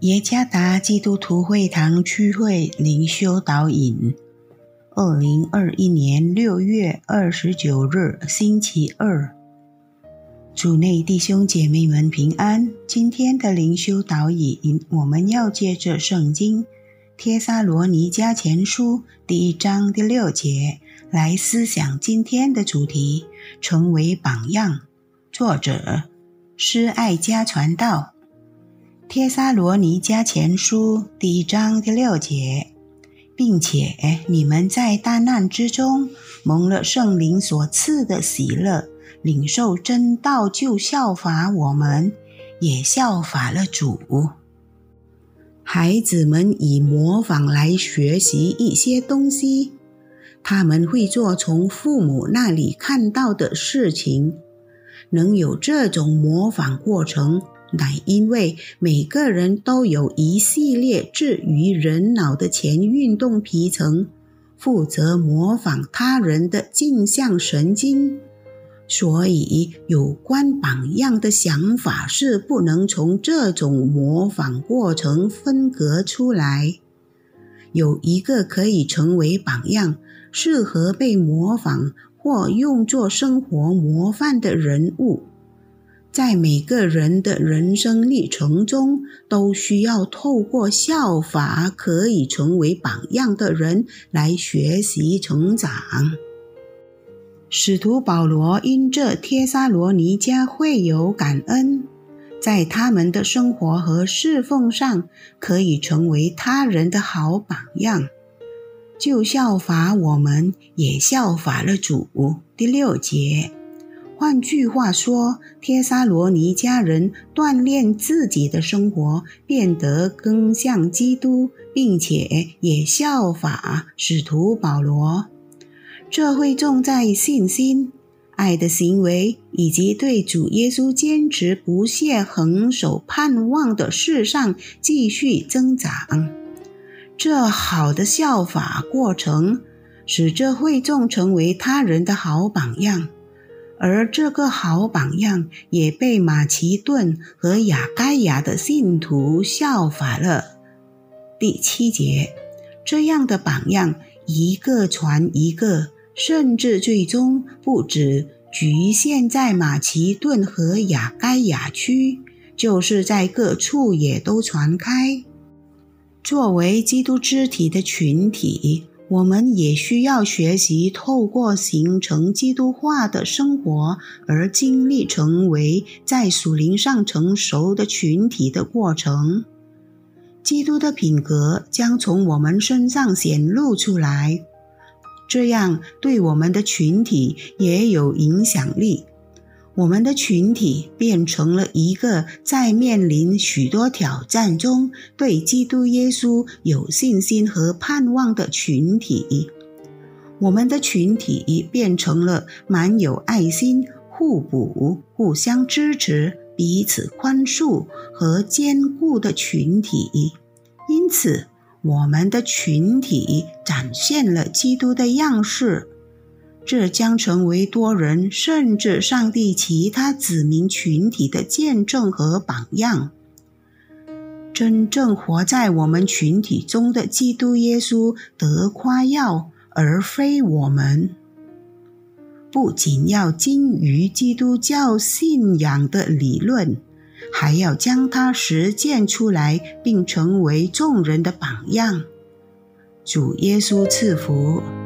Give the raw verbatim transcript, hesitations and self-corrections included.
耶加达基督徒会堂区会灵修导引，二零二一年六月二十九日星期二。主内弟兄姐妹们平安。今天的灵修导引，我们要借着圣经帖撒罗尼迦前书第一章第六节来思想今天的主题，成为榜样。作者施爱家传道。帖撒罗尼迦前书第一章第六节，并且你们在大难之中蒙了圣灵所赐的喜乐，领受真道，就效法我们，也效法了主。孩子们以模仿来学习一些东西，他们会做从父母那里看到的事情。能有这种模仿过程，乃因为每个人都有一系列置于人脑的前运动皮层，负责模仿他人的镜像神经。所以有关榜样的想法是不能从这种模仿过程分隔出来。有一个可以成为榜样，适合被模仿或用作生活模范的人物，在每个人的人生历程中，都需要透过效法可以成为榜样的人来学习成长。使徒保罗因这帖撒罗尼迦会有感恩，在他们的生活和侍奉上可以成为他人的好榜样，就效法我们，也效法了主。第六节，换句话说，帖撒罗尼迦人锻炼自己的生活，变得更像基督，并且也效法使徒保罗。这会重在信心、爱的行为以及对主耶稣坚持不懈恒守盼望的事上继续增长。这好的效法过程使这会众成为他人的好榜样，而这个好榜样也被马其顿和亚该亚的信徒效法了。第七节，这样的榜样一个传一个，甚至最终不只局限在马其顿和亚该亚区，就是在各处也都传开。作为基督肢体的群体，我们也需要学习透过形成基督化的生活而经历成为在属灵上成熟的群体的过程。基督的品格将从我们身上显露出来，这样对我们的群体也有影响力。我们的群体变成了一个在面临许多挑战中对基督耶稣有信心和盼望的群体。我们的群体变成了满有爱心、互补、互相支持、彼此宽恕和坚固的群体。因此，我们的群体展现了基督的样式，这将成为多人甚至上帝其他子民群体的见证和榜样。真正活在我们群体中的基督耶稣得夸耀，而非我们。不仅要精于基督教信仰的理论，还要将它实践出来，并成为众人的榜样。主耶稣赐福。